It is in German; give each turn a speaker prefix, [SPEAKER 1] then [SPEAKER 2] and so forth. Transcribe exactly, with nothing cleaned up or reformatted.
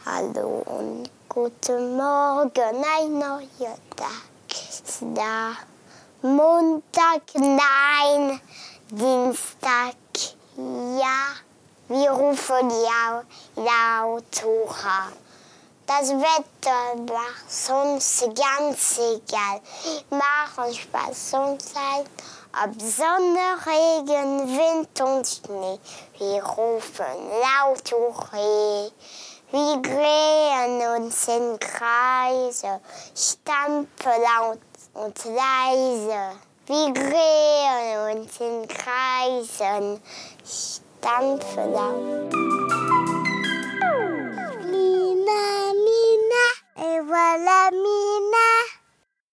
[SPEAKER 1] Hallo und guten Morgen, ein neuer Tag ist da. Montag, nein, Dienstag, ja. Wir rufen ja laut hoch. Das Wetter macht sonst ganz egal. Machen Spaß und Zeit, ob Sonne, Regen, Wind und Schnee. Wir rufen laut hoch. Wir drehen uns in Kreise, stampfen laut und leise. Wir drehen uns in Kreisen, stampfen laut. Mina, Mina, et voilà Mina.